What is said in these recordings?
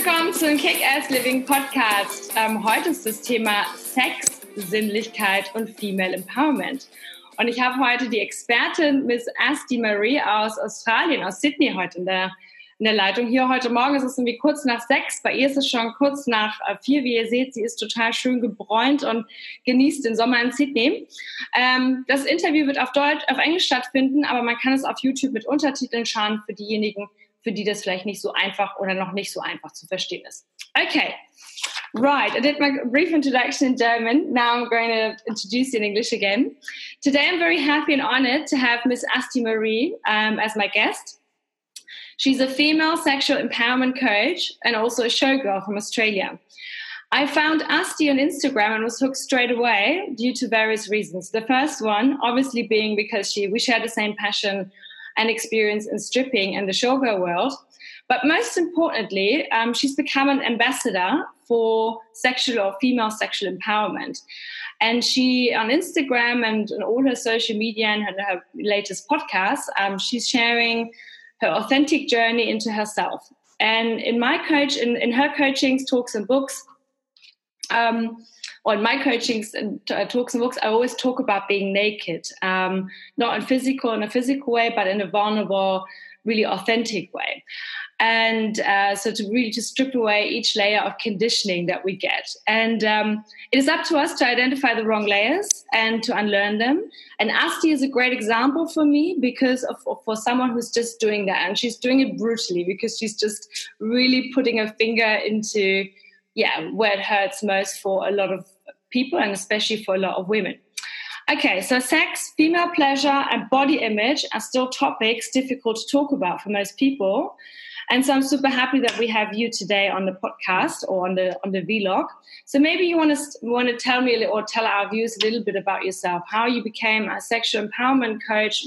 willkommen zum Kick-Ass Living Podcast. Heute ist das Thema Sex, Sinnlichkeit und Female Empowerment. Und ich habe heute die Expertin Miss Asti Marie aus Australien, aus Sydney heute in der Leitung. Hier heute Morgen ist es irgendwie kurz nach 6. Bei ihr ist es schon kurz nach 4. Wie ihr seht, sie ist total schön gebräunt und genießt den Sommer in Sydney. Das Interview wird auf Englisch stattfinden, aber man kann es auf YouTube mit Untertiteln schauen für diejenigen, für die das vielleicht nicht so einfach oder noch nicht so einfach zu verstehen ist. Okay. Right, I did my brief introduction in German. Now I'm going to introduce you in English again. Today I'm very happy and honored to have Miss Asti Marie as my guest. She's a female sexual empowerment coach and also a showgirl from Australia. I found Asti on Instagram and was hooked straight away due to various reasons. The first one, obviously, being because we share the same passion and experience in stripping and the showgirl world. But most importantly, she's become an ambassador for sexual or female sexual empowerment. And she, on Instagram and on all her social media and her latest podcasts, she's sharing her authentic journey into herself. And in my in her coachings, talks and books, or in my coachings and talks and books, I always talk about being naked, not in a physical way, but in a vulnerable, really authentic way. And so to really just strip away each layer of conditioning that we get. And it is up to us to identify the wrong layers and to unlearn them. And Asti is a great example for me because for someone who's just doing that. And she's doing it brutally because she's just really putting her finger into, where it hurts most for a lot of people and especially for a lot of women. Okay, so sex, female pleasure, and body image are still topics difficult to talk about for most people. And so I'm super happy that we have you today on the podcast or on the vlog. So maybe you want to tell me or tell our viewers a little bit about yourself, how you became a sexual empowerment coach,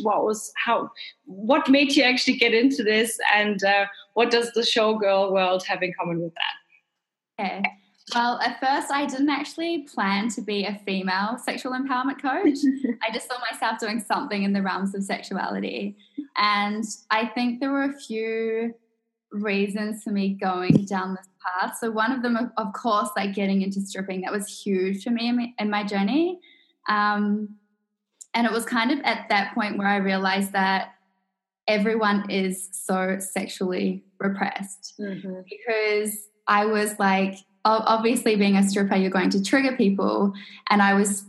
what made you actually get into this, and what does the showgirl world have in common with that? Okay. Well, at first I didn't actually plan to be a female sexual empowerment coach. I just saw myself doing something in the realms of sexuality. And I think there were a few reasons for me going down this path. So one of them, of course, like getting into stripping, that was huge for me in my journey. And it was kind of at that point where I realized that everyone is so sexually repressed because I was like, obviously being a stripper, you're going to trigger people. And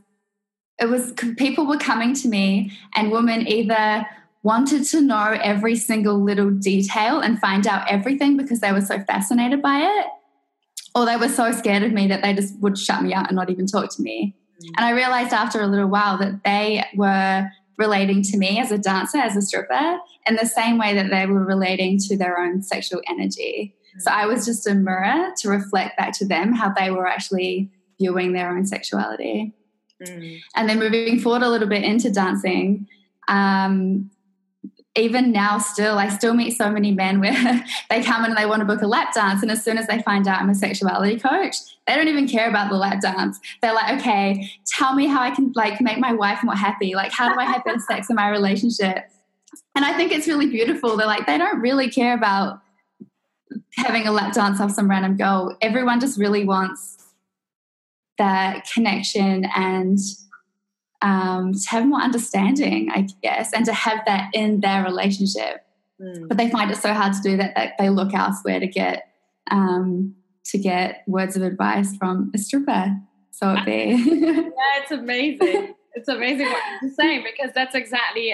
people were coming to me and women either wanted to know every single little detail and find out everything because they were so fascinated by it, or they were so scared of me that they just would shut me out and not even talk to me. And I realized after a little while that they were relating to me as a dancer, as a stripper, in the same way that they were relating to their own sexual energy. So I was just a mirror to reflect back to them how they were actually viewing their own sexuality. And then moving forward a little bit into dancing, even now I still meet so many men where they come in and they want to book a lap dance, and as soon as they find out I'm a sexuality coach, they don't even care about the lap dance. They're like, okay, tell me how I can like make my wife more happy. Like, how do I have better sex in my relationship? And I think it's really beautiful. They're like, they don't really care about having a lap dance off some random girl. Everyone just really wants that connection and to have more understanding, I guess, and to have that in their relationship. But they find it so hard to do that they look elsewhere to get words of advice from a stripper. So it'd be it's amazing. It's amazing what you're saying, because that's exactly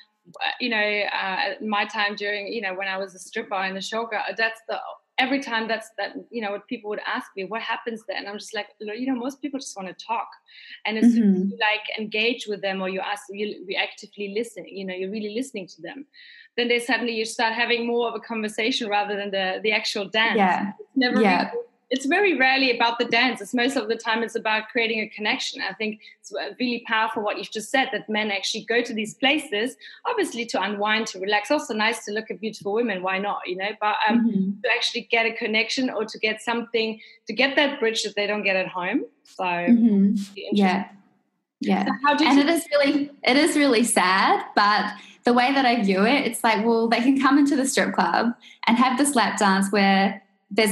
my time during when I was a stripper and a showgirl. Every time what people would ask me, what happens there? And I'm just like, most people just want to talk. And as soon as you like engage with them or you actively listen, you're really listening to them, then you start having more of a conversation rather than the actual dance. Yeah. It's never really, it's very rarely about the dance. It's most of the time it's about creating a connection. I think it's really powerful what you've just said, that men actually go to these places, obviously to unwind, to relax. Also nice to look at beautiful women, why not, But to actually get a connection or to get something, to get that bridge that they don't get at home. So Yeah. So it is really sad, but the way that I view it, it's like, well, they can come into the strip club and have this lap dance where there's a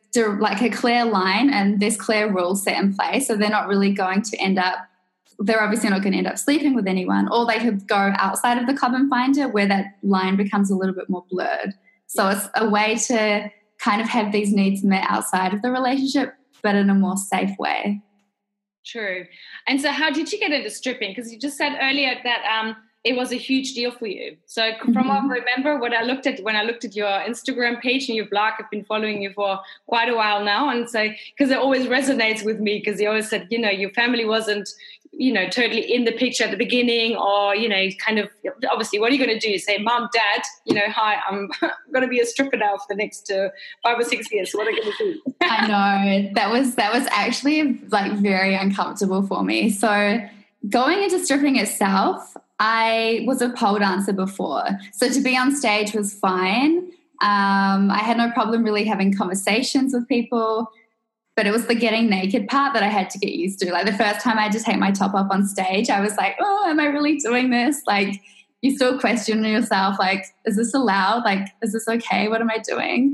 like a clear line and there's clear rules set in place. So they're not really going to they're obviously not going to end up sleeping with anyone, or they could go outside of the club and find it where that line becomes a little bit more blurred. So it's a way to kind of have these needs met outside of the relationship, but in a more safe way. True. And so how did you get into stripping? Because you just said earlier that it was a huge deal for you. So from what I remember, when I looked at your Instagram page and your blog, I've been following you for quite a while now. And so, because it always resonates with me, because you always said, your family wasn't, totally in the picture at the beginning, or, kind of, obviously, what are you going to do? Say, Mom, Dad, hi, I'm going to be a stripper now for the next 5 or 6 years. So what are you going to do? I know. That was actually like very uncomfortable for me. So going into stripping itself, I was a pole dancer before. So to be on stage was fine. I had no problem really having conversations with people, but it was the getting naked part that I had to get used to. Like the first time I had to take my top off on stage, I was like, oh, am I really doing this? Like you still question yourself, like, is this allowed? Like, is this okay? What am I doing?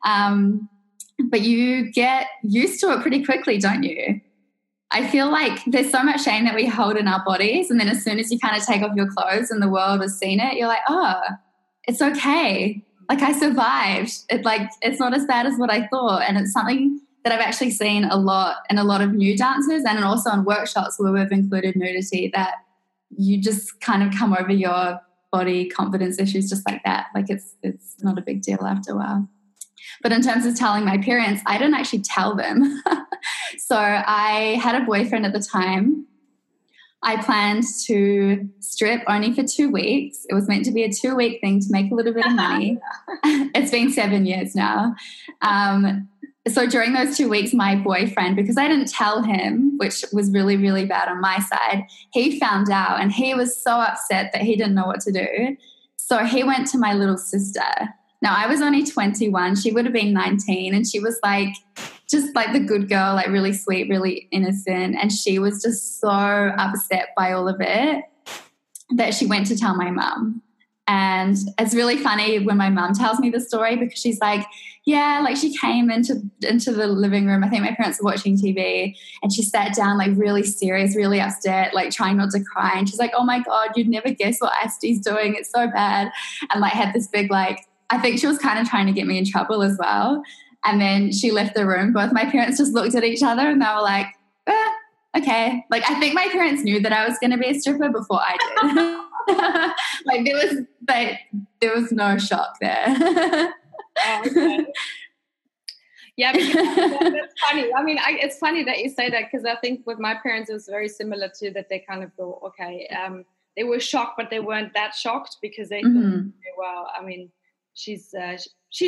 But you get used to it pretty quickly, don't you? I feel like there's so much shame that we hold in our bodies, and then as soon as you kind of take off your clothes and the world has seen it, you're like, oh, it's okay. Like I survived. It's not as bad as what I thought. And it's something that I've actually seen a lot in a lot of new dancers, and also in workshops where we've included nudity, that you just kind of come over your body confidence issues just like that. Like it's not a big deal after a while. But in terms of telling my parents, I didn't actually tell them. So I had a boyfriend at the time. I planned to strip only for 2 weeks. It was meant to be a 2-week thing to make a little bit of money. It's been 7 years now. So during those 2 weeks, my boyfriend, because I didn't tell him, which was really, really bad on my side, he found out and he was so upset that he didn't know what to do. So he went to my little sister. Now, I was only 21. She would have been 19. And she was like, just like the good girl, like really sweet, really innocent. And she was just so upset by all of it that she went to tell my mum. And it's really funny when my mum tells me the story, because she's like, yeah, like she came into the living room. I think my parents were watching TV, and she sat down like really serious, really upset, like trying not to cry. And she's like, oh my God, you'd never guess what Asti's doing. It's so bad. And like had this big, like, I think she was kind of trying to get me in trouble as well. And then she left the room. Both my parents just looked at each other and they were like, okay. Like I think my parents knew that I was going to be a stripper before I did. Like there was no shock there. Oh, okay. Yeah, that's funny. I mean, it's funny that you say that, because I think with my parents it was very similar to that. They kind of thought, okay, they were shocked, but they weren't that shocked, because they thought, well, I mean, she's just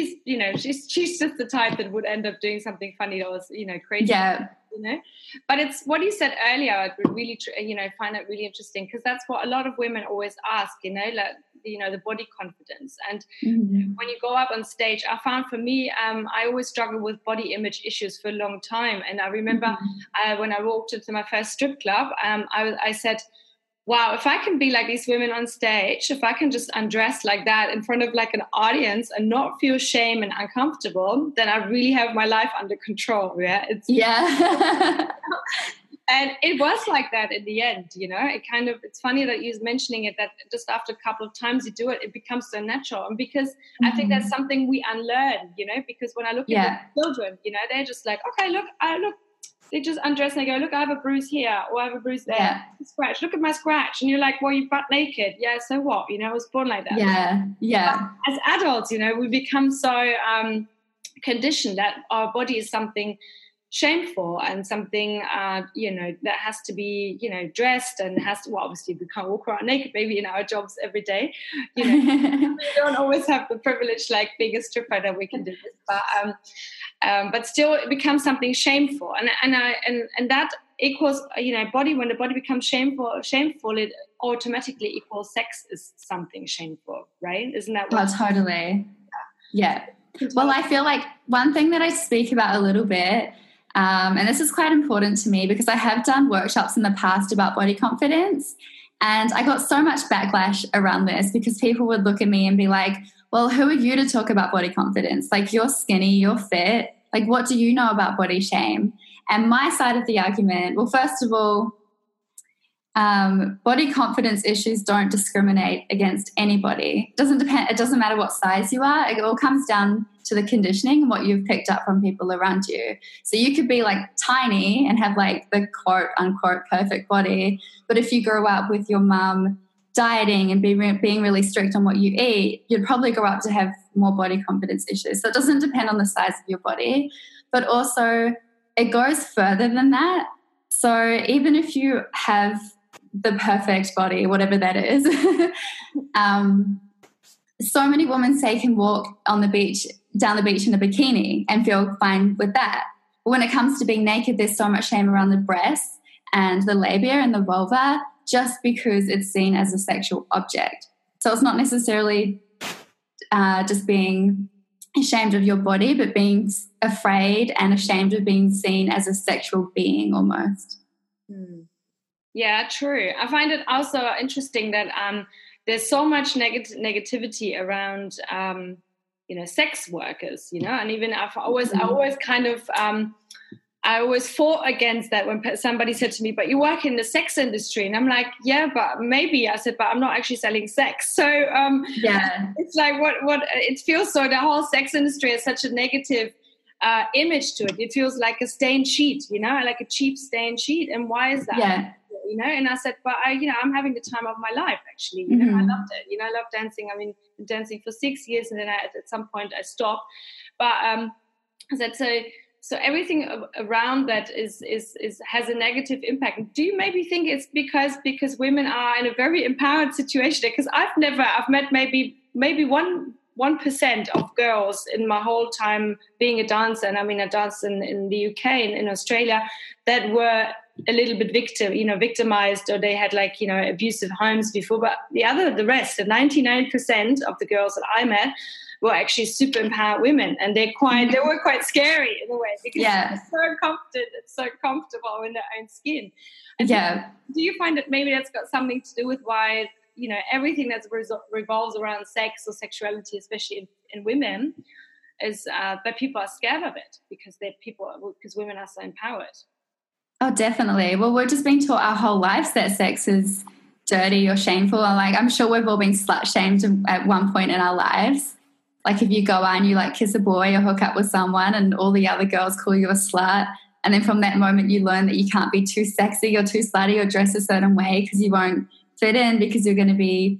the type that would end up doing something funny or crazy. Yeah. But it's what you said earlier. I would really, find it really interesting, because that's what a lot of women always ask. Like, the body confidence. And when you go up on stage, I found for me, I always struggled with body image issues for a long time. And I remember when I walked into my first strip club, I said, wow, if I can be like these women on stage, if I can just undress like that in front of like an audience and not feel shame and uncomfortable, then I really have my life under control. Yeah. And it was like that in the end, it's funny that you're mentioning it, that just after a couple of times you do it, it becomes so natural. And because I think that's something we unlearn, because when I look at the children, they're just like, okay, look, they just undress and they go, look, I have a bruise here, or I have a bruise there. Yeah. Scratch. Look at my scratch. And you're like, well, you're butt naked. Yeah, so what? I was born like that. Yeah. But as adults, we become so conditioned that our body is something shameful and something, that has to be, dressed and has to, well, obviously we can't walk around naked maybe in our jobs every day. We don't always have the privilege like being a stripper that we can do this. But still it becomes something shameful. And that equals, body, when the body becomes shameful, it automatically equals sex is something shameful, right? Isn't that what? Oh, totally. Yeah. Well, I feel like one thing that I speak about a little bit, and this is quite important to me because I have done workshops in the past about body confidence, and I got so much backlash around this because people would look at me and be like, well, who are you to talk about body confidence? Like, you're skinny, you're fit, Like, what do you know about body shame? And my side of the argument, well, first of all, body confidence issues don't discriminate against anybody. It doesn't matter what size you are. It all comes down to the conditioning and what you've picked up from people around you. So you could be like tiny and have like the quote unquote perfect body, but if you grow up with your mum dieting and being really strict on what you eat, you'd probably grow up to have more body confidence issues. So it doesn't depend on the size of your body, but also it goes further than that. So even if you have the perfect body, whatever that is, so many women say can walk on the beach, down the beach in a bikini and feel fine with that. But when it comes to being naked, there's so much shame around the breasts and the labia and the vulva, just because it's seen as a sexual object. So it's not necessarily just being ashamed of your body, but being afraid and ashamed of being seen as a sexual being almost. Yeah, true. I find it also interesting that there's so much negativity around, sex workers, and even I always fought against that when somebody said to me, but you work in the sex industry. And I'm like, yeah, but maybe. I said, but I'm not actually selling sex. So it's like what it feels so the whole sex industry has such a negative image to it. It feels like a stained sheet, like a cheap stained sheet. And why is that? Yeah. And I said, but I'm having the time of my life, actually. I loved it. I love dancing. I mean, dancing for 6 years, and then at some point I stopped. But I said, so everything around that is has a negative impact. Do you maybe think it's because women are in a very empowered situation? Because I've met maybe 1% of girls in my whole time being a dancer, and I mean I danced in the UK and in Australia, that were a little bit victimized, or they had abusive homes before. But the rest, the 99% of the girls that I met were actually super empowered women, and they were quite scary in a way, because it's so comfortable in their own skin. And do you find that maybe that's got something to do with why everything that revolves around sex or sexuality, especially in women, is that people are scared of it because women are so empowered? Oh, definitely. Well, we're just being taught our whole lives that sex is dirty or shameful. I'm sure we've all been slut shamed at one point in our lives. Like if you go out and you kiss a boy or hook up with someone and all the other girls call you a slut, and then from that moment you learn that you can't be too sexy or too slutty or dress a certain way because you won't fit in, because you're going to be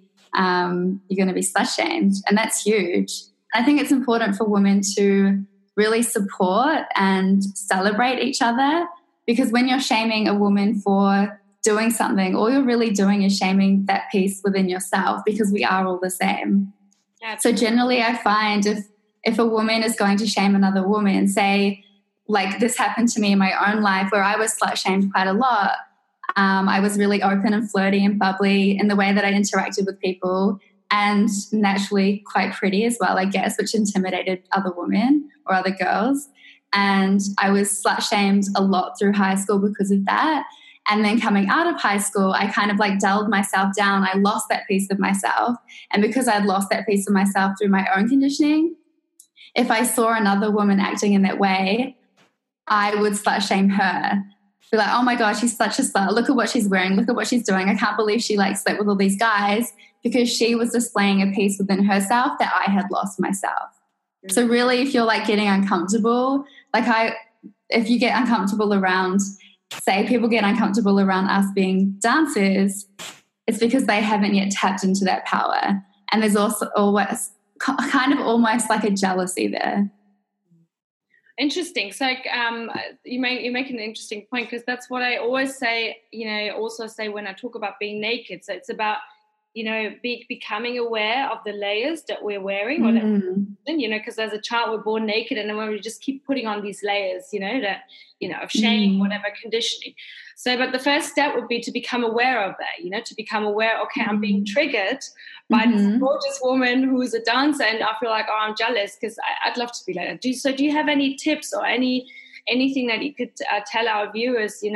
slut shamed, and that's huge. I think it's important for women to really support and celebrate each other, because when you're shaming a woman for doing something, all you're really doing is shaming that piece within yourself, because we are all the same. So generally I find if a woman is going to shame another woman, say like this happened to me in my own life where I was slut shamed quite a lot. I was really open and flirty and bubbly in the way that I interacted with people, and naturally quite pretty as well, I guess, which intimidated other women or other girls. And I was slut shamed a lot through high school because of that. And then coming out of high school, I kind of dulled myself down. I lost that piece of myself. And because I'd lost that piece of myself through my own conditioning, if I saw another woman acting in that way, I would slut shame her. Be like, oh my God, she's such a slut. Look at what she's wearing. Look at what she's doing. I can't believe she slept with all these guys, because she was displaying a piece within herself that I had lost myself. Mm-hmm. So really, if you're getting uncomfortable, if you get uncomfortable around, say people get uncomfortable around us being dancers, it's because they haven't yet tapped into that power. And there's also always almost like a jealousy there. Interesting. So you make an interesting point, because that's what I always say, also say when I talk about being naked. So it's about, becoming aware of the layers that we're wearing, because as a child we're born naked, and then when we just keep putting on these layers, of shame, whatever conditioning. So, but the first step would be to become aware of that, to become aware, okay, I'm being triggered by this gorgeous woman who's a dancer, and I feel like, oh, I'm jealous because I'd love to be like that. Do you have any tips or anything that you could tell our viewers,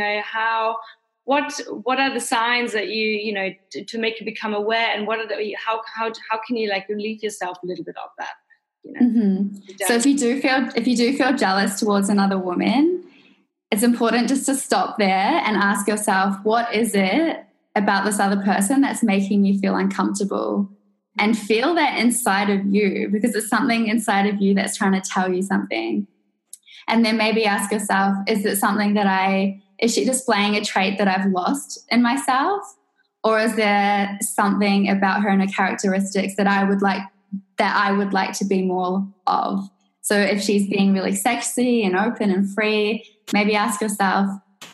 what are the signs that to make you become aware, and how can you relieve yourself a little bit of that? you know. So if you do feel jealous towards another woman, it's important just to stop there and ask yourself, what is it about this other person that's making you feel uncomfortable? And feel that inside of you, because it's something inside of you that's trying to tell you something. And then maybe ask yourself, is she displaying a trait that I've lost in myself? Or is there something about her and her characteristics that I would like to be more of? So if she's being really sexy and open and free, maybe ask yourself,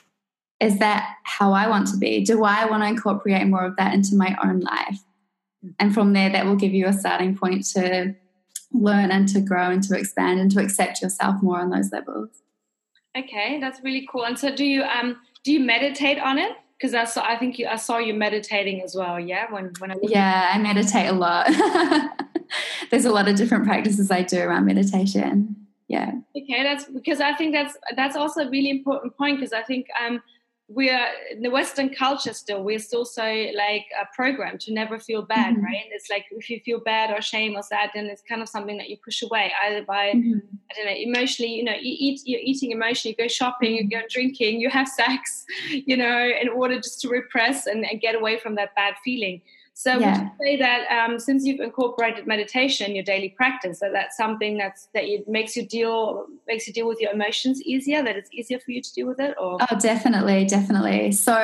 is that how I want to be? Do I want to incorporate more of that into my own life? And from there, that will give you a starting point to learn and to grow and to expand and to accept yourself more on those levels. Okay, that's really cool. And so do you meditate on it? Because I saw you meditating as well. Yeah, I meditate a lot. There's a lot of different practices I do around meditation. Yeah. Okay, that's because I think that's also a really important point, because I think we're in the Western culture we're still so like programmed to never feel bad, right? It's like if you feel bad or shame or sad, then it's kind of something that you push away, either by I don't know, emotionally, you're eating emotionally, you go shopping, you go drinking, you have sex, in order just to repress and get away from that bad feeling. So would you say that since you've incorporated meditation in your daily practice, that's something that makes you deal with your emotions easier, that it's easier for you to deal with it? Or? Oh, definitely. So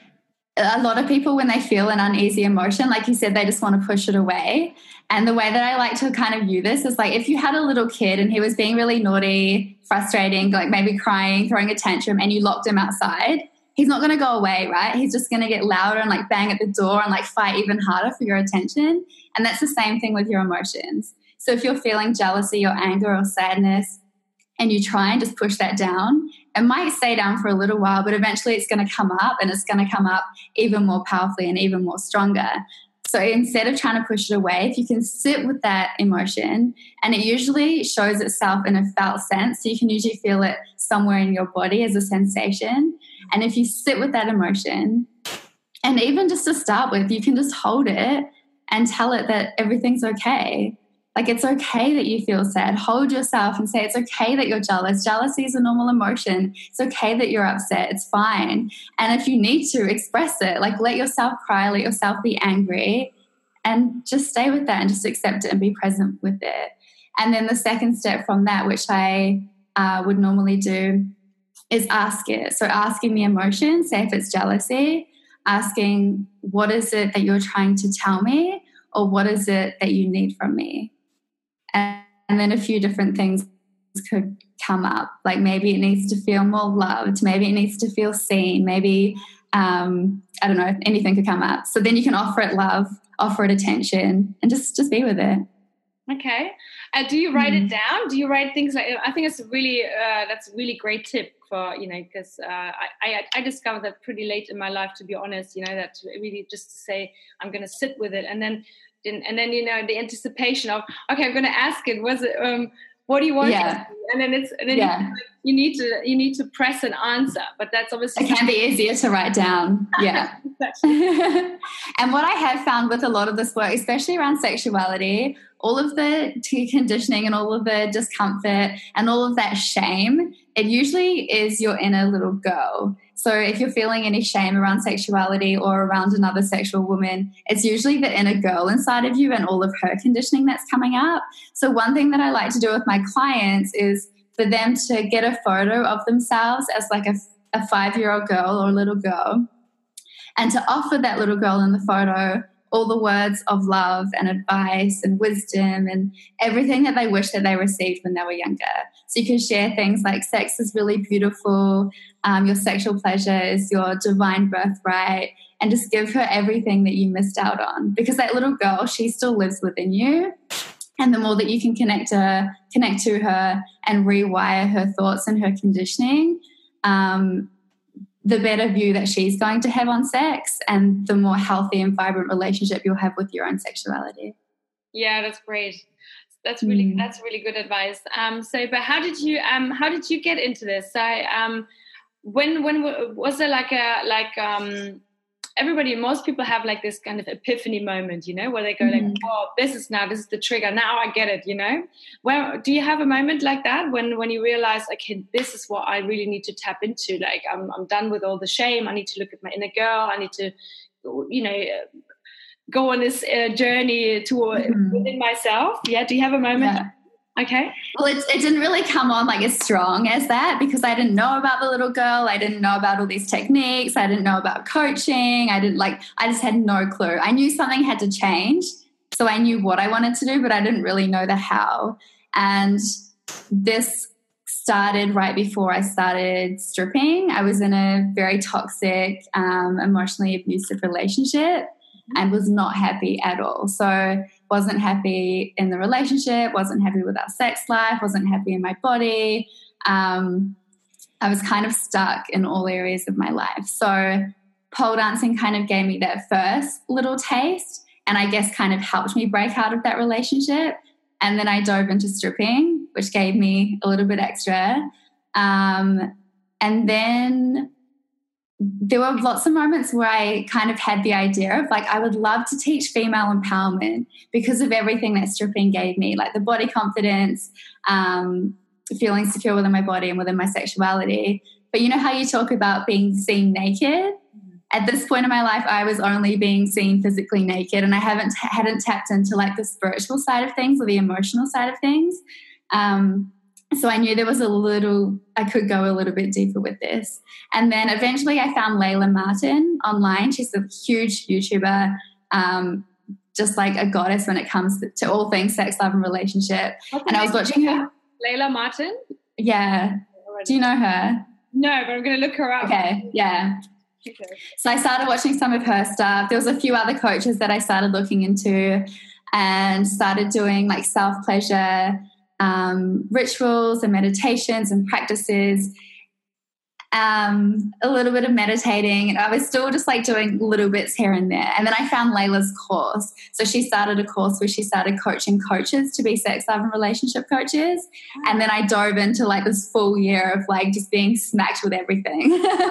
a lot of people, when they feel an uneasy emotion, like you said, they just want to push it away. And the way that I like to kind of view this is like if you had a little kid and he was being really naughty, frustrating, like maybe crying, throwing a tantrum, and you locked him outside, he's not going to go away, right? He's just going to get louder and like bang at the door and like fight even harder for your attention. And that's the same thing with your emotions. So if you're feeling jealousy or anger or sadness and you try and just push that down, it might stay down for a little while, but eventually it's going to come up, and it's going to come up even more powerfully and even more stronger. So instead of trying to push it away, if you can sit with that emotion, and it usually shows itself in a felt sense, so you can usually feel it somewhere in your body as a sensation. And if you sit with that emotion, and even just to start with, you can just hold it and tell it that everything's okay. Like, it's okay that you feel sad. Hold yourself and say it's okay that you're jealous. Jealousy is a normal emotion. It's okay that you're upset. It's fine. And if you need to, express it. Like, let yourself cry, let yourself be angry, and just stay with that and just accept it and be present with it. And then the second step from that, which I would normally do, is ask it. So asking the emotion, say if it's jealousy, asking what is it that you're trying to tell me, or what is it that you need from me? And then a few different things could come up. Like maybe it needs to feel more loved. Maybe it needs to feel seen. Maybe, I don't know, anything could come up. So then you can offer it love, offer it attention, and just be with it. Okay. Do you write it down? Do you write things like, I think it's that's a really great tip for, because I discovered that pretty late in my life, to be honest, that really just to say, I'm going to sit with it. And then the anticipation of, okay, I'm going to ask it, what do you want? Yeah. And then you need to press an answer, but that's obviously, it can be easier to write down. Yeah. And what I have found with a lot of this work, especially around sexuality, all of the conditioning and all of the discomfort and all of that shame, it usually is your inner little girl. So if you're feeling any shame around sexuality or around another sexual woman, it's usually the inner girl inside of you and all of her conditioning that's coming up. So one thing that I like to do with my clients is for them to get a photo of themselves as like a 5-year-old girl or little girl, and to offer that little girl in the photo all the words of love and advice and wisdom and everything that they wish that they received when they were younger. So you can share things like sex is really beautiful, your sexual pleasure is your divine birthright, and just give her everything that you missed out on. Because that little girl, she still lives within you. And the more that you can connect to her and rewire her thoughts and her conditioning, the better view that she's going to have on sex, and the more healthy and vibrant relationship you'll have with your own sexuality. Yeah, that's great. That's really good advice. But how did you get into this? When was there most people have like this kind of epiphany moment, where they go like, oh, this is the trigger. Now I get it, Well, do you have a moment like that when you realize, okay, this is what I really need to tap into? Like, I'm done with all the shame. I need to look at my inner girl. I need to, go on this journey within myself. Yeah. Do you have a moment? Yeah. Okay. Well, it didn't really come on like as strong as that, because I didn't know about the little girl. I didn't know about all these techniques. I didn't know about coaching. I just had no clue. I knew something had to change. So I knew what I wanted to do, but I didn't really know the how. And this started right before I started stripping. I was in a very toxic, emotionally abusive relationship and was not happy at all. So wasn't happy in the relationship, wasn't happy with our sex life, wasn't happy in my body. I was kind of stuck in all areas of my life. So pole dancing kind of gave me that first little taste, and I guess kind of helped me break out of that relationship. And then I dove into stripping, which gave me a little bit extra. And then there were lots of moments where I kind of had the idea of like, I would love to teach female empowerment because of everything that stripping gave me, like the body confidence, feeling secure within my body and within my sexuality. But you know how you talk about being seen naked? At this point in my life, I was only being seen physically naked, and I hadn't tapped into like the spiritual side of things or the emotional side of things. So I knew there was I could go a little bit deeper with this. And then eventually I found Layla Martin online. She's a huge YouTuber, just like a goddess when it comes to all things sex, love, and relationship. And I was watching her. Layla Martin? Yeah. Do you know her? No, but I'm going to look her up. Okay, yeah. Okay. So I started watching some of her stuff. There was a few other coaches that I started looking into and started doing like self-pleasure rituals and meditations and practices, a little bit of meditating, and I was still just like doing little bits here and there. And then I found Layla's course. So she started a course where she started coaching coaches to be sex, love, and relationship coaches. And then I dove into like this full year of like just being smacked with everything.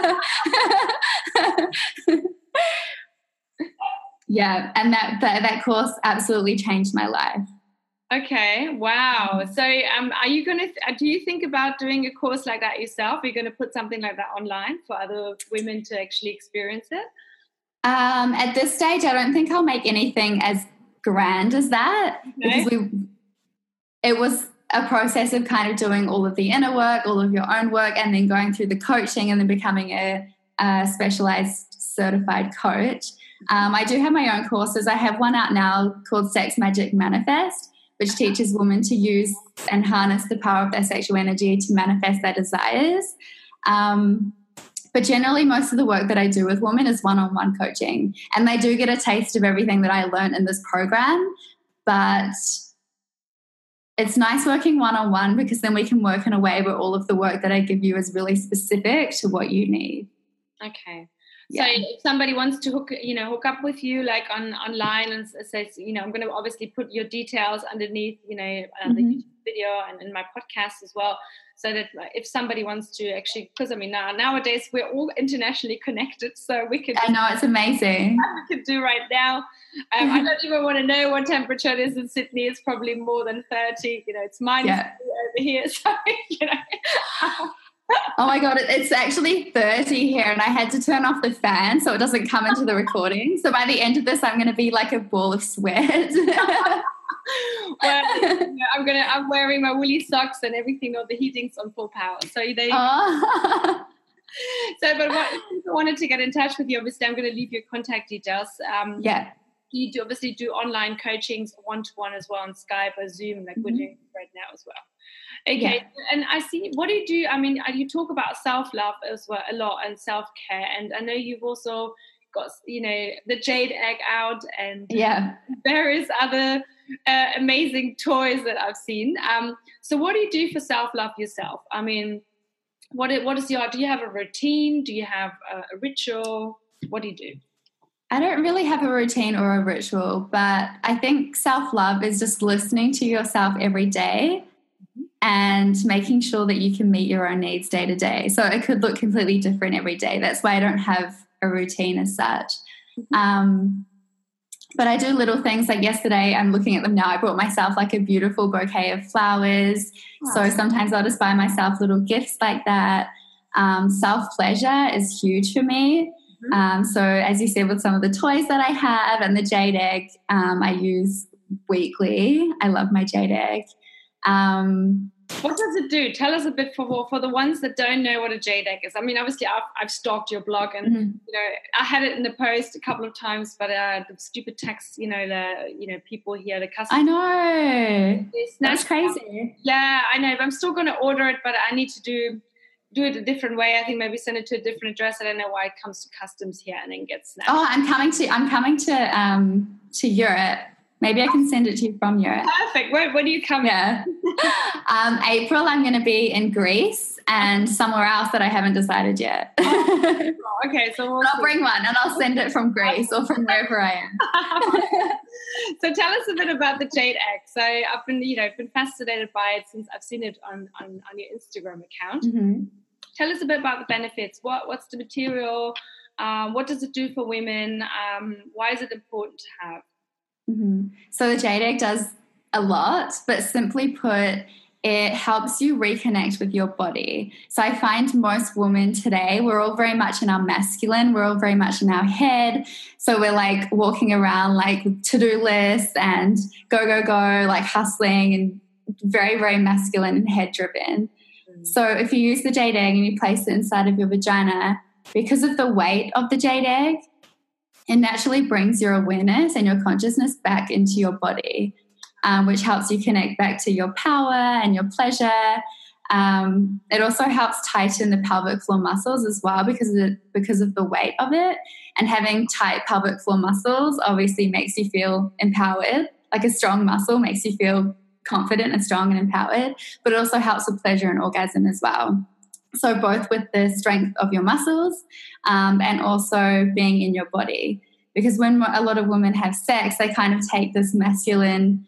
Yeah, and that course absolutely changed my life. Okay, wow. So are you do you think about doing a course like that yourself? Are you going to put something like that online for other women to actually experience it? At this stage, I don't think I'll make anything as grand as that, because it was a process of kind of doing all of the inner work, all of your own work, and then going through the coaching and then becoming a specialized certified coach. I do have my own courses. I have one out now called Sex Magic Manifest, which teaches women to use and harness the power of their sexual energy to manifest their desires. But generally, most of the work that I do with women is one-on-one coaching, and they do get a taste of everything that I learned in this program. But it's nice working one-on-one because then we can work in a way where all of the work that I give you is really specific to what you need. Okay. So if somebody wants to hook up with you like online and says, I'm going to obviously put your details underneath, the YouTube video and in my podcast as well, so that if somebody wants to actually, because nowadays we're all internationally connected, so we could. I know, it's amazing. We could do right now. I don't even want to know what temperature it is in Sydney. It's probably more than 30. It's minus over here. So Oh my God, it's actually 30 here, and I had to turn off the fan so it doesn't come into the recording. So by the end of this, I'm going to be like a ball of sweat. Well, I'm wearing my woolly socks and everything, all the heating's on full power. So there you go. So, but if people wanted to get in touch with you, obviously I'm going to leave your contact details. You obviously do online coachings, one-to-one as well on Skype or Zoom, like we're doing right now as well. Okay, and I see, what do you do? You talk about self-love as well a lot and self-care, and I know you've also got, the jade egg out and various other amazing toys that I've seen. So what do you do for self-love yourself? What is do you have a routine? Do you have a ritual? What do you do? I don't really have a routine or a ritual, but I think self-love is just listening to yourself every day and making sure that you can meet your own needs day to day. So it could look completely different every day. That's why I don't have a routine as such. But I do little things like yesterday, I'm looking at them now, I brought myself like a beautiful bouquet of flowers. Oh. So sometimes I'll just buy myself little gifts like that. Self-pleasure is huge for me. So as you said, with some of the toys that I have and the jade egg, I use weekly. I love my jade egg. What does it do? Tell us a bit for the ones that don't know what a jade egg is. I mean, obviously, I've stalked your blog, and I had it in the post a couple of times, but the stupid text, people here, the customers. I know. That's crazy. Yeah, I know. But I'm still going to order it, but I need to do it a different way. I think maybe send it to a different address. I don't know why it comes to customs here and then gets snapped. Oh, I'm coming to Europe. Maybe I can send it to you from Europe. Perfect. When do you come? Yeah. April, I'm going to be in Greece and somewhere else that I haven't decided yet. Okay, so I'll bring one and I'll send it from Greece or from wherever I am. So tell us a bit about the jade egg. So I've been fascinated by it since I've seen it on your Instagram account. Mm-hmm. Tell us a bit about the benefits. What's the material? What does it do for women? Why is it important to have? Mm-hmm. So the jade egg does a lot, but simply put, it helps you reconnect with your body. So I find most women today, we're all very much in our masculine, we're all very much in our head. So we're like walking around like with to-do lists and go, like hustling and very, very masculine and head driven. Mm-hmm. So if you use the jade egg and you place it inside of your vagina, because of the weight of the jade egg, it naturally brings your awareness and your consciousness back into your body, which helps you connect back to your power and your pleasure. It also helps tighten the pelvic floor muscles as well because of the weight of it. And having tight pelvic floor muscles obviously makes you feel empowered. Like a strong muscle makes you feel confident and strong and empowered, but it also helps with pleasure and orgasm as well. So both with the strength of your muscles and also being in your body. Because when a lot of women have sex, they kind of take this masculine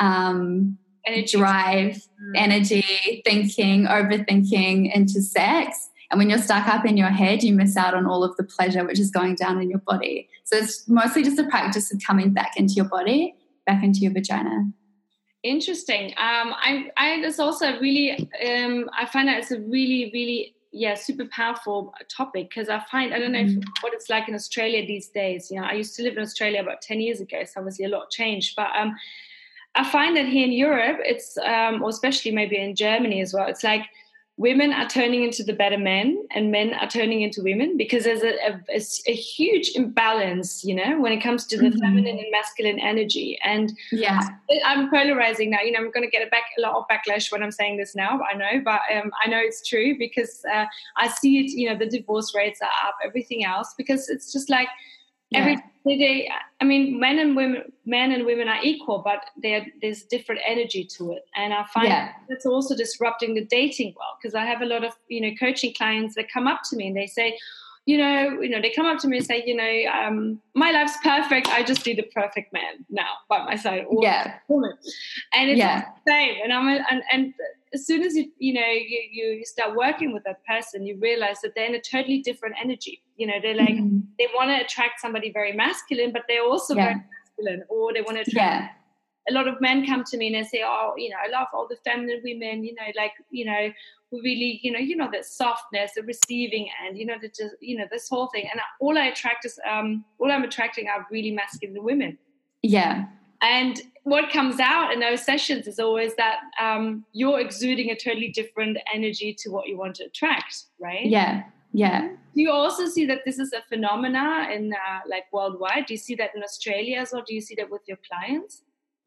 drive, energy, thinking, overthinking into sex. And when you're stuck up in your head, you miss out on all of the pleasure which is going down in your body. So it's mostly just a practice of coming back into your body, back into your vagina. Interesting. I just also really, I find that it's a really, really, super powerful topic, because I don't know what it's like in Australia these days. I used to live in Australia about 10 years ago, so obviously a lot changed. But I find that here in Europe, it's, or especially maybe in Germany as well, it's like women are turning into the better men and men are turning into women, because there's a huge imbalance, when it comes to the feminine and masculine energy. And I'm polarizing now. I'm going to get a lot of backlash when I'm saying this now, I know, but I know it's true, because I see it, the divorce rates are up, everything else, because it's just like every day, I mean, men and women are equal, but there's different energy to it. And I find it's also disrupting the dating world, because I have a lot of, coaching clients that come up to me and they say, they come up to me and say, my life's perfect. I just need the perfect man now by my side. Or woman. And it's the same. And as soon as you start working with that person, you realize that they're in a totally different energy. They're like, they want to attract somebody very masculine, but they're also very masculine, or they want to attract. A lot of men come to me and they say, oh, I love all the feminine women, who really, the softness, the receiving end, this whole thing. And all I'm attracting are really masculine women. Yeah. And what comes out in those sessions is always that you're exuding a totally different energy to what you want to attract, right? Yeah. Yeah. Do you also see that this is a phenomena in worldwide? Do you see that in Australia as well? Do you see that with your clients?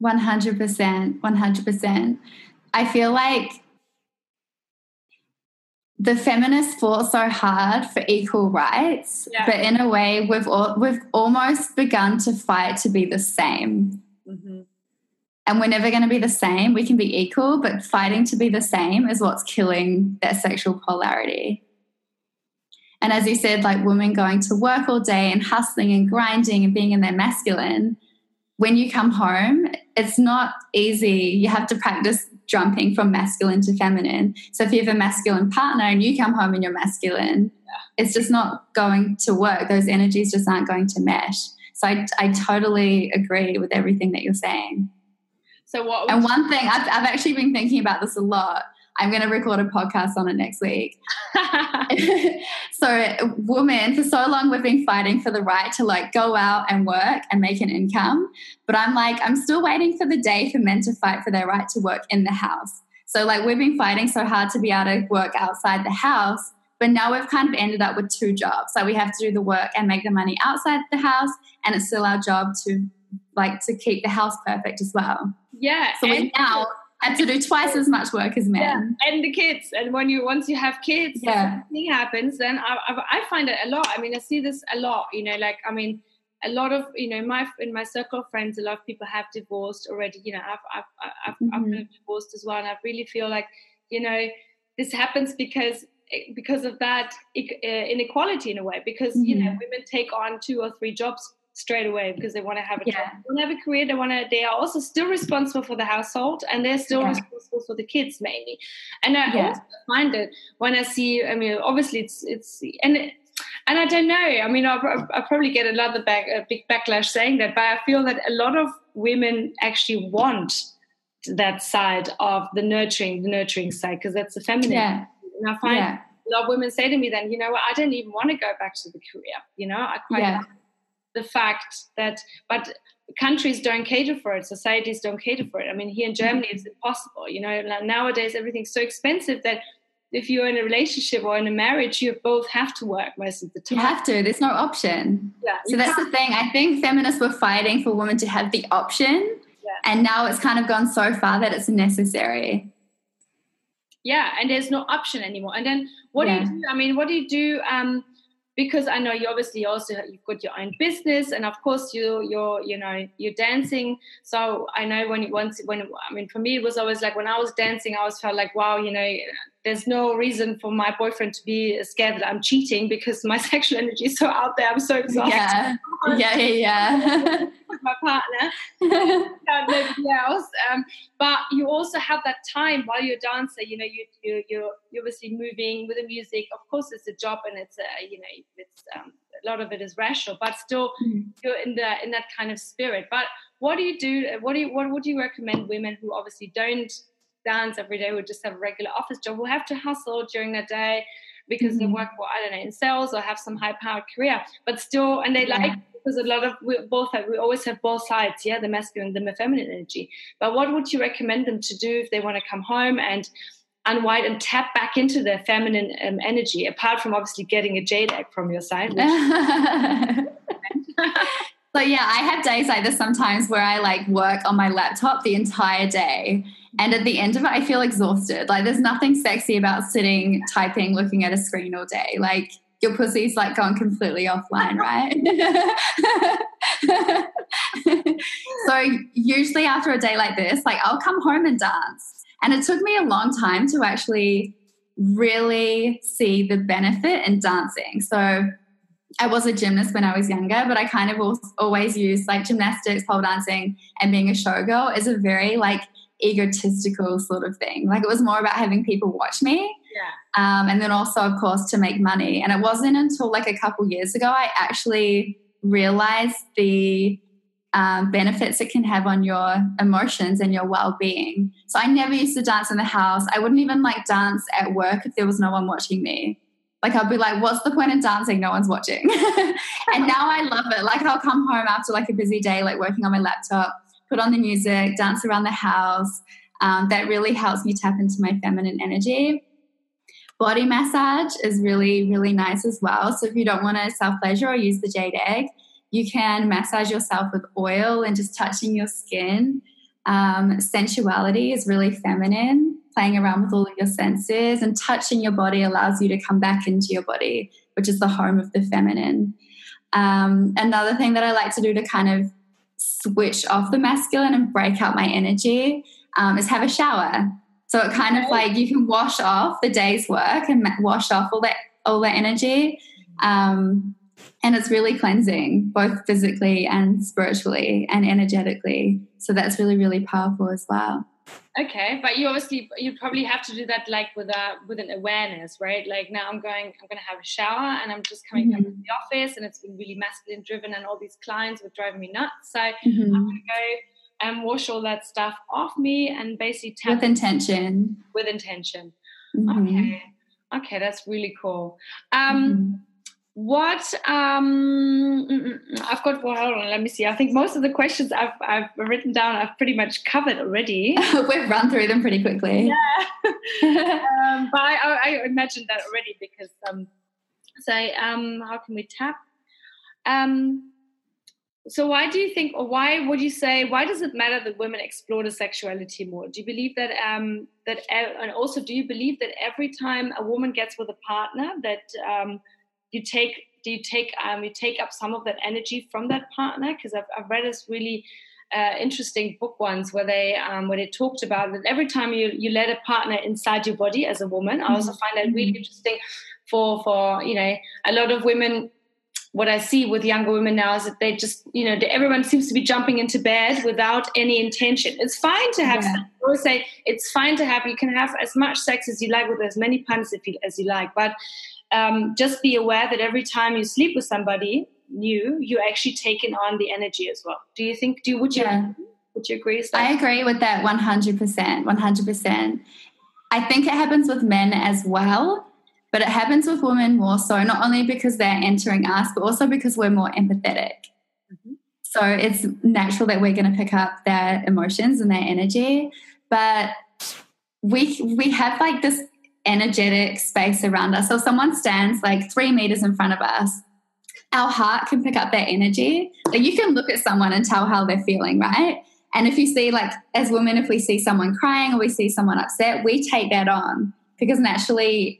100%. I feel like the feminists fought so hard for equal rights, but in a way we've almost begun to fight to be the same. Mm-hmm. And we're never going to be the same. We can be equal, but fighting to be the same is what's killing that sexual polarity. And as you said, like women going to work all day and hustling and grinding and being in their masculine, when you come home, it's not easy. You have to practice jumping from masculine to feminine. So if you have a masculine partner and you come home and you're masculine, it's just not going to work. Those energies just aren't going to mesh. So I totally agree with everything that you're saying. So one thing, I've actually been thinking about this a lot. I'm going to record a podcast on it next week. So women, for so long we've been fighting for the right to like go out and work and make an income. But I'm still waiting for the day for men to fight for their right to work in the house. So like we've been fighting so hard to be able to work outside the house, but now we've kind of ended up with 2 jobs. So we have to do the work and make the money outside the house, and it's still our job to keep the house perfect as well. Yeah. So we now have to do twice as much work as men. Yeah. And the kids. And once you have kids, something happens, then I find it a lot. I mean, I see this a lot, you know, like, I mean, a lot of, you know, in my circle of friends, a lot of people have divorced already. You know, I've been divorced as well. And I really feel like, you know, this happens because of that inequality in a way, because, you know, women take on 2 or 3 jobs straight away because they want to have a job, they want to have a career, they are also still responsible for the household, and they're still responsible for the kids mainly. And I also find it when I see, I mean, obviously it's and I don't know, I mean, I'll probably get a big backlash saying that, but I feel that a lot of women actually want that side of the nurturing side, because that's the feminine. Yeah. And I find a lot of women say to me then, you know what, I don't even want to go back to the career. You know, I quite like the fact that, but countries don't cater for it, societies don't cater for it. I mean, here in Germany, it's impossible. You know, nowadays everything's so expensive that if you're in a relationship or in a marriage, you both have to work most of the time. You have to. There's no option. Yeah, so that's the thing. I think feminists were fighting for women to have the option, and now it's kind of gone so far that it's necessary. Yeah, and there's no option anymore. And then what do you do? I mean, what do you do? Because I know you obviously also, you've got your own business, and of course you're dancing. So I know for me it was always like when I was dancing, I always felt like, wow, you know, there's no reason for my boyfriend to be scared that I'm cheating, because my sexual energy is so out there. I'm so exhausted. Yeah. With my partner, nobody else. But you also have that time while you're a dancer. You know, you're obviously moving with the music. Of course, it's a job, and it's a lot of it is rational, but still you're in that kind of spirit. But what do you do? What would you recommend women who obviously don't dance every day, who just have a regular office job, who have to hustle during the day because they work, in sales or have some high-powered career, but still, and they because we always have both sides, the masculine and the feminine energy. But what would you recommend them to do if they want to come home and unwind and tap back into their feminine energy, apart from obviously getting a jade egg from your side? So I have days like this sometimes where I like work on my laptop the entire day, and at the end of it I feel exhausted. Like there's nothing sexy about sitting, typing, looking at a screen all day. Like your pussy's like gone completely offline, right? So usually after a day like this, like I'll come home and dance. And it took me a long time to actually really see the benefit in dancing. So I was a gymnast when I was younger, but I kind of always used like gymnastics, pole dancing, and being a showgirl as a very like egotistical sort of thing. Like it was more about having people watch me. And then also, of course, to make money. And it wasn't until like a couple years ago I actually realized the benefits it can have on your emotions and your well-being. So I never used to dance in the house. I wouldn't even like dance at work if there was no one watching me. Like I'd be like, what's the point in dancing? No one's watching. And now I love it. Like I'll come home after like a busy day, like working on my laptop, put on the music, dance around the house. That really helps me tap into my feminine energy. Body massage is really, really nice as well. So if you don't want to self-pleasure or use the jade egg, you can massage yourself with oil and just touching your skin. Sensuality is really feminine. Playing around with all of your senses and touching your body allows you to come back into your body, which is the home of the feminine. Another thing that I like to do to kind of switch off the masculine and break out my energy is have a shower. So it kind of like you can wash off the day's work and wash off all that energy. And it's really cleansing, both physically and spiritually and energetically. So that's really, really powerful as well. Okay, but you probably have to do that like with an awareness, right? Like now I'm gonna have a shower and I'm just coming back to the office and it's been really masculine driven and all these clients were driving me nuts. So I'm gonna go and wash all that stuff off me and basically tap with intention. With intention. Mm-hmm. Okay, that's really cool. What I've got, well, hold on, let me see. I think most of the questions I've written down I've pretty much covered already. We've run through them pretty quickly. Yeah. But I imagined that already because how can we tap? So why do you think, or why would you say, why does it matter that women explore the sexuality more? Do you believe that, and also do you believe that every time a woman gets with a partner that you take up some of that energy from that partner? Because I've read this really interesting book once where they talked about that every time you let a partner inside your body as a woman. I also find that really interesting for a lot of women. What I see with younger women now is that they just, everyone seems to be jumping into bed without any intention. It's fine to have sex. I always say it's fine to have, you can have as much sex as you like with as many partners as you like. But just be aware that every time you sleep with somebody new, you're actually taking on the energy as well. Would you agree with that? I agree with that 100%. I think it happens with men as well. But it happens with women more so, not only because they're entering us, but also because we're more empathetic. Mm-hmm. So it's natural that we're going to pick up their emotions and their energy. But we have like this energetic space around us. So if someone stands like 3 meters in front of us, our heart can pick up that energy. Like you can look at someone and tell how they're feeling, right? And if you see, like as women, if we see someone crying or we see someone upset, we take that on because naturally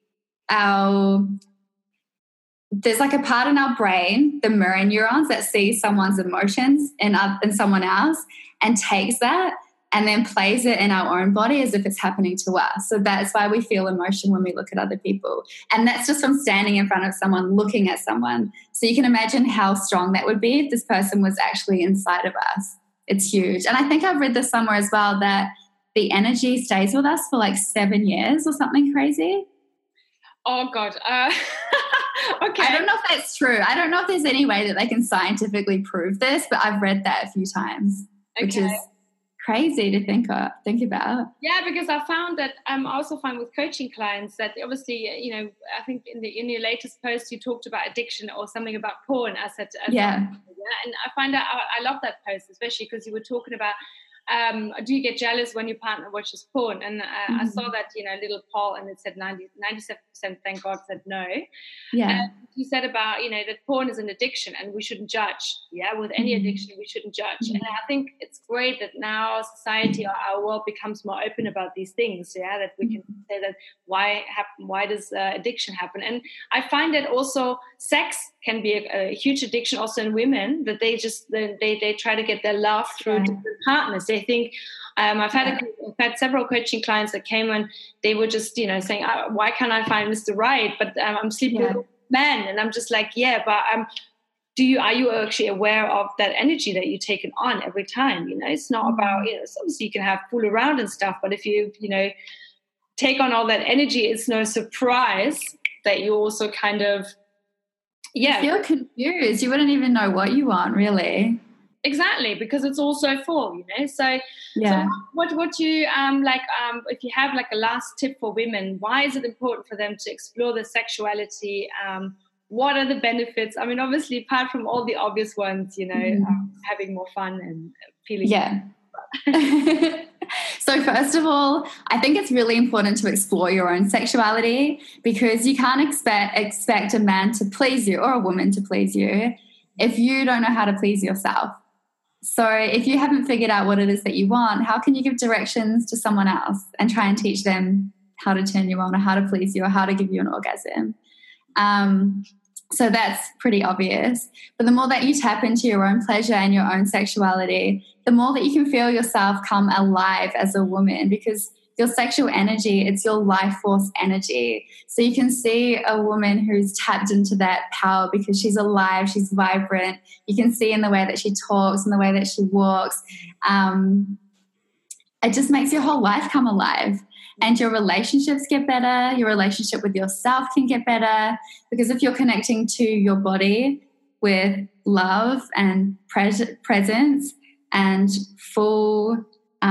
there's like a part in our brain, the mirror neurons, that sees someone's emotions in someone else and takes that and then plays it in our own body as if it's happening to us. So that's why we feel emotion when we look at other people. And that's just from standing in front of someone, looking at someone. So you can imagine how strong that would be if this person was actually inside of us. It's huge. And I think I've read this somewhere as well that the energy stays with us for like 7 years or something crazy. Oh, God. Okay. I don't know if that's true. I don't know if there's any way that they can scientifically prove this, but I've read that a few times, which is crazy to think about. Yeah, because I found that I also find with coaching clients that obviously, I think in your latest post you talked about addiction or something about porn. I said, and I find that I love that post, especially because you were talking about do you get jealous when your partner watches porn? And I saw that, little poll and it said 97%, thank God, said no. Yeah. And you said about, that porn is an addiction and we shouldn't judge. Yeah, with any addiction, we shouldn't judge. And I think it's great that now society or our world becomes more open about these things, that we can say that why does addiction happen? And I find that also sex can be a huge addiction also in women, that they try to get their love through different partners. They think, I've had several coaching clients that came and they were just, saying, why can't I find Mr. Right? But I'm sleeping with a man. And I'm just like, but are you actually aware of that energy that you're taking on every time? It's not about, obviously you can have fool around and stuff, but if you, take on all that energy, it's no surprise that you also kind of, you feel confused. You wouldn't even know what you want, really. Exactly, because it's all so full, So, so what you if you have like a last tip for women, why is it important for them to explore their sexuality? What are the benefits? I mean, obviously, apart from all the obvious ones, having more fun and feeling. Yeah. So first of all, I think it's really important to explore your own sexuality because you can't expect a man to please you or a woman to please you if you don't know how to please yourself. So if you haven't figured out what it is that you want, how can you give directions to someone else and try and teach them how to turn you on or how to please you or how to give you an orgasm? So that's pretty obvious. But the more that you tap into your own pleasure and your own sexuality, the more that you can feel yourself come alive as a woman, because your sexual energy, it's your life force energy. So you can see a woman who's tapped into that power because she's alive, she's vibrant. You can see in the way that she talks and the way that she walks. it just makes your whole life come alive. And your relationships get better. Your relationship with yourself can get better, because if you're connecting to your body with love and presence and full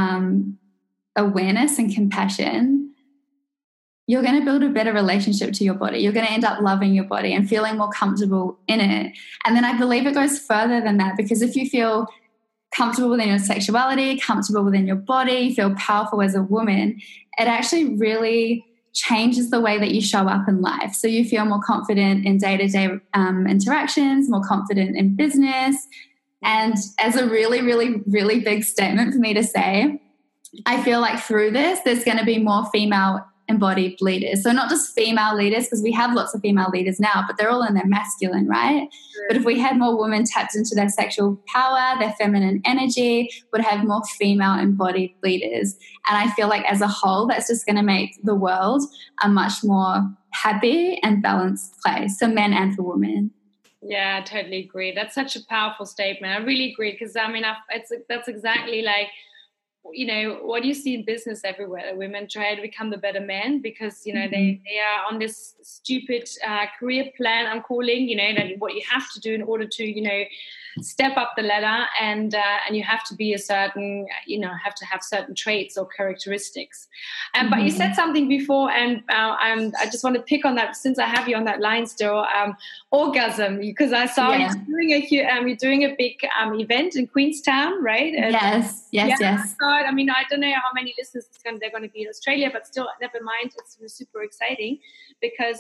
awareness and compassion, you're going to build a better relationship to your body. You're going to end up loving your body and feeling more comfortable in it. And then I believe it goes further than that, because if you feel comfortable within your sexuality, comfortable within your body, feel powerful as a woman, it actually really changes the way that you show up in life. So you feel more confident in day-to-day interactions, more confident in business. And as a really, really, really big statement for me to say, I feel like through this, there's going to be more female embodied leaders. So not just female leaders, because we have lots of female leaders now, but they're all in their masculine, right? Sure. But if we had more women tapped into their sexual power, their feminine energy, would have more female embodied leaders. And I feel like as a whole, that's just going to make the world a much more happy and balanced place for men and for women. Yeah, I totally agree. That's such a powerful statement. I really agree, because I mean, that's exactly like, you know, what you see in business everywhere. Women try to become the better men because, you know, they are on this stupid career plan, I'm calling, you know, that what you have to do in order to, you know, step up the ladder, and you have to be a certain, you know, have to have certain traits or characteristics. But you said something before, and I just want to pick on that since I have you on that line still. Orgasm, because I saw you're doing a big event in Queenstown, right? Yes. I mean, I don't know how many listeners they're going to be in Australia, but still, never mind. It's super exciting because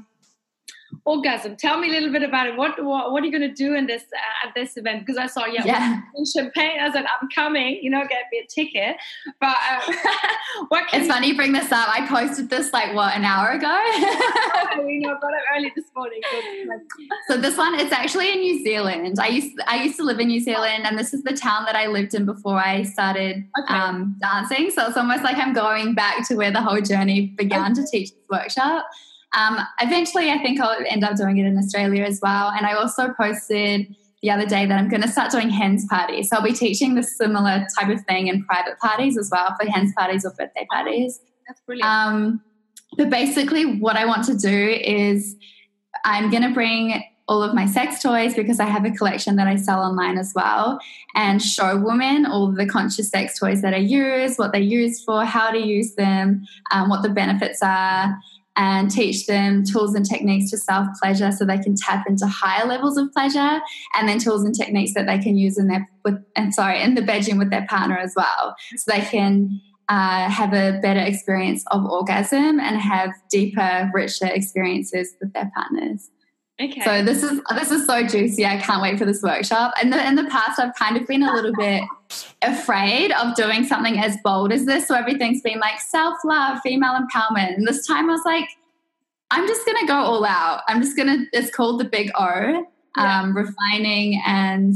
orgasm. Tell me a little bit about it. What are you going to do in this at this event? Because I saw champagne. I said, I'm coming. You know, get me a ticket. But it's funny you bring this up. I posted this an hour ago. You know, got it early this morning. So this one, it's actually in New Zealand. I used to live in New Zealand, and this is the town that I lived in before I started dancing. So it's almost like I'm going back to where the whole journey began to teach this workshop. Eventually, I think I'll end up doing it in Australia as well. And I also posted the other day that I'm going to start doing hens parties. So I'll be teaching this similar type of thing in private parties as well, for hens parties or birthday parties. That's brilliant. But basically what I want to do is I'm going to bring all of my sex toys, because I have a collection that I sell online as well, and show women all the conscious sex toys that I use, what they're used for, how to use them, what the benefits are, and teach them tools and techniques to self-pleasure so they can tap into higher levels of pleasure, and then tools and techniques that they can use in the bedroom with their partner as well, so they can have a better experience of orgasm and have deeper, richer experiences with their partners. Okay. So this is so juicy. I can't wait for this workshop. And in the past, I've kind of been a little bit afraid of doing something as bold as this. So everything's been like self-love, female empowerment. And this time I was like, I'm just going to go all out. It's called the Big O, refining and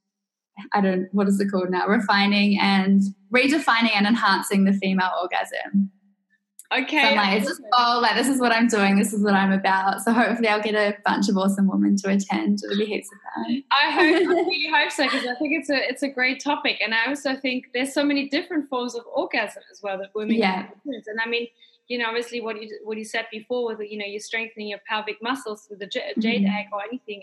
what is it called now? Refining and redefining and enhancing the female orgasm. Okay. So I'm like, it's just bold. Like, this is what I'm doing. This is what I'm about. So hopefully I'll get a bunch of awesome women to attend. It'll be heaps of fun. I really hope so, because I think it's a great topic. And I also think there's so many different forms of orgasm as well that women can experience. And I mean, you know, obviously what you said before with, you know, you're strengthening your pelvic muscles with the jade egg or anything.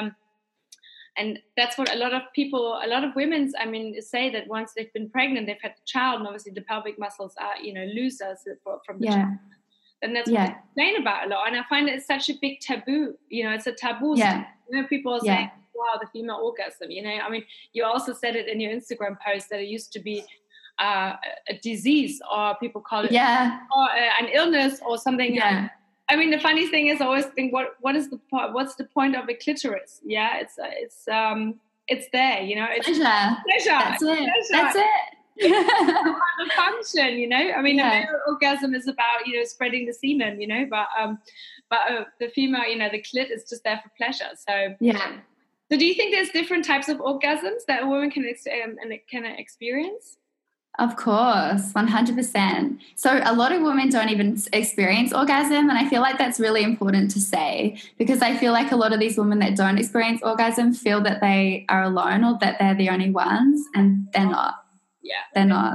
And that's what a lot of women, I mean, say that once they've been pregnant, they've had a child, and obviously the pelvic muscles are, you know, looser from the child. And that's what they complain about a lot. And I find it's such a big taboo. You know, it's a taboo. You know, people are saying, wow, the female orgasm, you know. I mean, you also said it in your Instagram post that it used to be a disease, or people call it or an illness or something. Yeah. I mean, the funny thing is, I always think, what's the point of a clitoris? Yeah, it's there, you know. It's pleasure. That's it. That's it. It's a function, you know. I mean, the male orgasm is about, you know, spreading the semen, you know, but the female, you know, the clit is just there for pleasure. So So, do you think there's different types of orgasms that a woman can experience? Of course, 100%. So a lot of women don't even experience orgasm, and I feel like that's really important to say, because I feel like a lot of these women that don't experience orgasm feel that they are alone or that they're the only ones, and they're not. Yeah. They're not.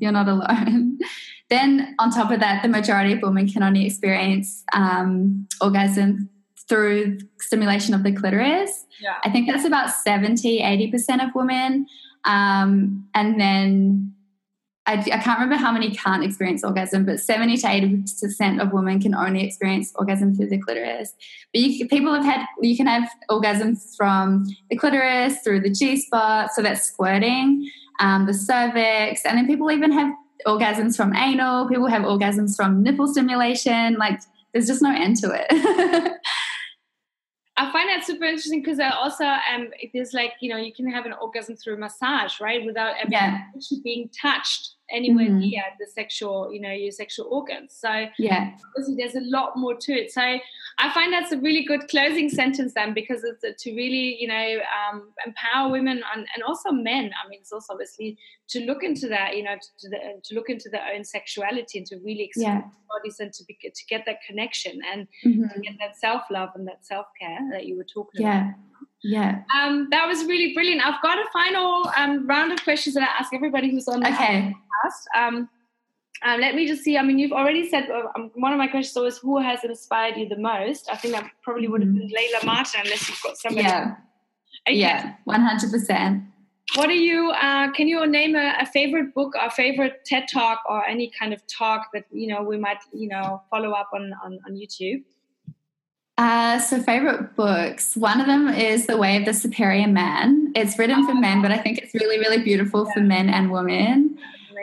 You're not alone. Then on top of that, the majority of women can only experience orgasm through stimulation of the clitoris. Yeah. I think that's about 70-80% of women. And then I can't remember how many can't experience orgasm, but 70-80% of women can only experience orgasm through the clitoris. But you can have orgasms from the clitoris, through the G-spot, so that's squirting, the cervix, and then people even have orgasms from anal. People have orgasms from nipple stimulation. Like, there's just no end to it. I find that super interesting because I also there's like, you can have an orgasm through massage, right, without ever actually being touched anywhere near the sexual, your sexual organs. So obviously there's a lot more to it. So I find that's a really good closing sentence then, because it's to really, empower women and also men. I mean, it's also obviously to look into that, to look into their own sexuality and to really explore their bodies and to get that connection and to get that self-love and that self-care that you were talking about. Yeah. That was really brilliant. I've got a final round of questions that I ask everybody who's on the podcast. Let me just see. I mean, you've already said one of my questions was who has inspired you the most. I think that probably would have been Layla Martin, unless you've got somebody. Yeah. Okay. Yeah, 100%. What are you? Can you name a favorite book or favorite TED Talk or any kind of talk that we might follow up on YouTube? So favorite books. One of them is The Way of the Superior Man. It's written for men, but I think it's really, really beautiful for men and women.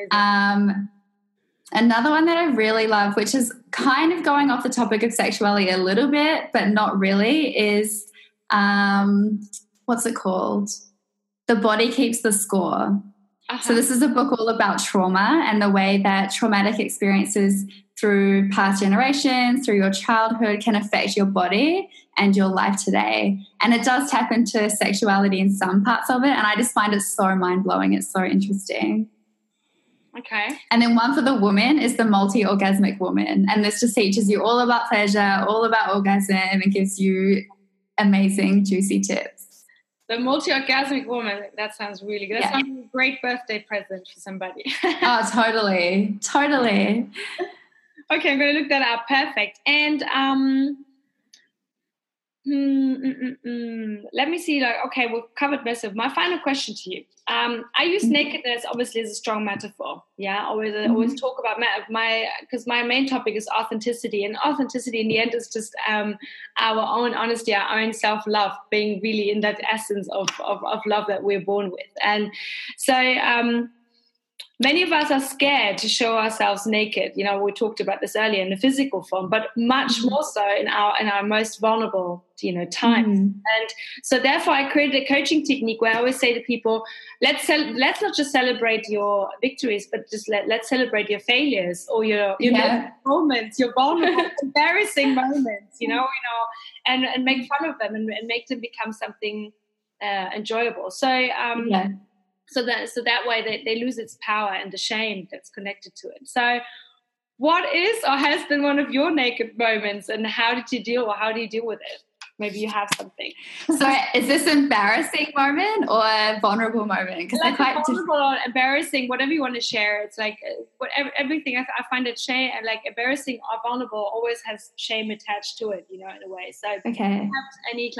Another one that I really love, which is kind of going off the topic of sexuality a little bit, but not really, is what's it called? The Body Keeps the Score. So this is a book all about trauma and the way that traumatic experiences through past generations, through your childhood, can affect your body and your life today. And it does tap into sexuality in some parts of it, and I just find it so mind-blowing. It's so interesting. Okay. And then one for the woman is The Multi-Orgasmic Woman, and this just teaches you all about pleasure, all about orgasm, and gives you amazing, juicy tips. The Multi-Orgasmic Woman, that sounds really good. That sounds like a great birthday present for somebody. Oh, totally. Okay, I'm going to look that up. Perfect. And let me see. Okay, we've covered most of. My final question to you. I use nakedness obviously as a strong metaphor. Yeah, always talk about because my main topic is authenticity, and authenticity in the end is just our own honesty, our own self-love, being really in that essence of love that we're born with. And so many of us are scared to show ourselves naked. We talked about this earlier in the physical form, but much more so in our most vulnerable, times. And so therefore I created a coaching technique where I always say to people, let's not just celebrate your victories, but just let's celebrate your failures or your moments, your vulnerable, embarrassing moments, and make fun of them and make them become something enjoyable. So, So that way they lose its power and the shame that's connected to it. So what is or has been one of your naked moments, and how do you deal with it? Maybe you have something. So is this embarrassing moment or a vulnerable moment? Because like they're quite vulnerable or embarrassing, whatever you want to share. It's like everything. I find it shame, like embarrassing or vulnerable always has shame attached to it, in a way. So okay. Do you have any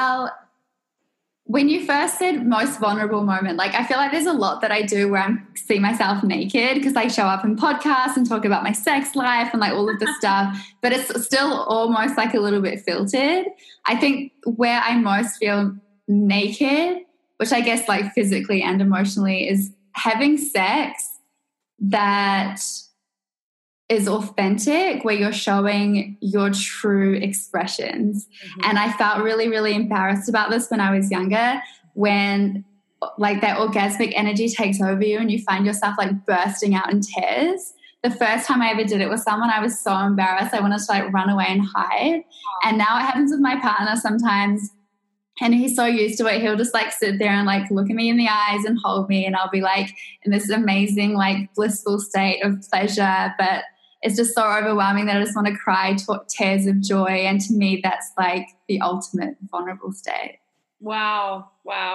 when you first said most vulnerable moment, I feel like there's a lot that I do where I see myself naked because I show up in podcasts and talk about my sex life and all of this stuff, but it's still almost a little bit filtered. I think where I most feel naked, which I guess physically and emotionally, is having sex that is authentic, where you're showing your true expressions. And I felt really, really embarrassed about this when I was younger, when that orgasmic energy takes over you and you find yourself bursting out in tears. The first time I ever did it with someone, I was so embarrassed. I wanted to run away and hide. And now it happens with my partner sometimes, and he's so used to it. He'll just sit there and look at me in the eyes and hold me, and I'll be in this amazing blissful state of pleasure, but it's just so overwhelming that I just want to cry tears of joy. And to me, that's the ultimate vulnerable state. Wow.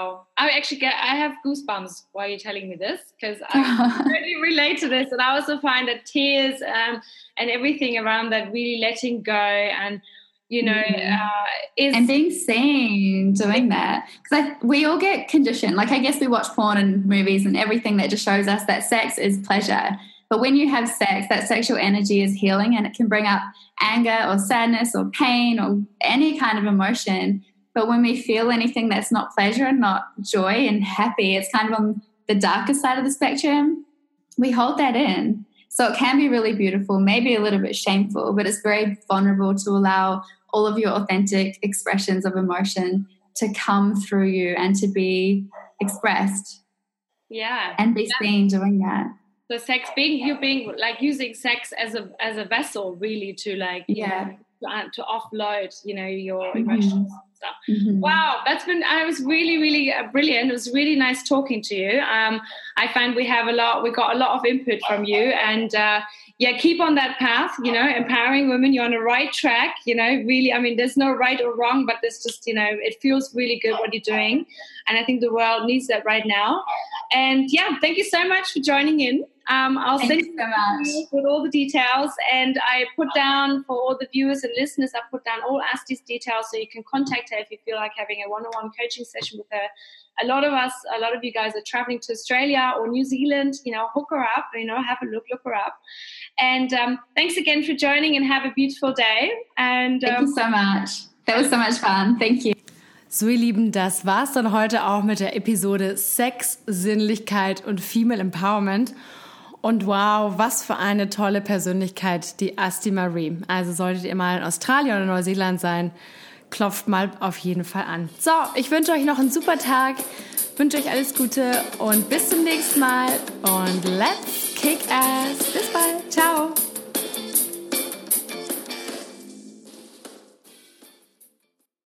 I have goosebumps while you're telling me this, because I really relate to this. And I also find that tears and everything around that, really letting go and, you know, is... And being seen doing that. Because we all get conditioned. Like, I guess we watch porn and movies and everything that just shows us that sex is pleasure. But when you have sex, that sexual energy is healing, and it can bring up anger or sadness or pain or any kind of emotion. But when we feel anything that's not pleasure and not joy and happy, it's kind of on the darker side of the spectrum, we hold that in. So it can be really beautiful, maybe a little bit shameful, but it's very vulnerable to allow all of your authentic expressions of emotion to come through you and to be expressed. Yeah. And be seen doing that. So sex, you being like using sex as a vessel, really, to like, to offload, you know, your emotions and stuff. Wow, I was really, really brilliant. It was really nice talking to you. I find we got a lot of input from you, and keep on that path, you know, empowering women. You're on the right track, you know, really. I mean, there's no right or wrong, but there's just, you know, it feels really good what you're doing. And I think the world needs that right now. And thank you so much for joining in. I'll send you so much with all the details, and I put down for all the viewers and listeners, I put down all Asti's details, so you can contact her if you feel like having a one-on-one coaching session with her. A lot of you guys are traveling to Australia or New Zealand, you know, hook her up, you know, have a look her up. And thanks again for joining, and have a beautiful day. And thank you so much. That was so much fun. Thank you. So, ihr Lieben, das war's dann heute auch mit der Episode Sex, Sinnlichkeit und Female Empowerment. Und wow, was für eine tolle Persönlichkeit, die Asti Marie. Also solltet ihr mal in Australien oder Neuseeland sein, klopft mal auf jeden Fall an. So, ich wünsche euch noch einen super Tag, wünsche euch alles Gute und bis zum nächsten Mal. Und let's kick ass. Bis bald. Ciao.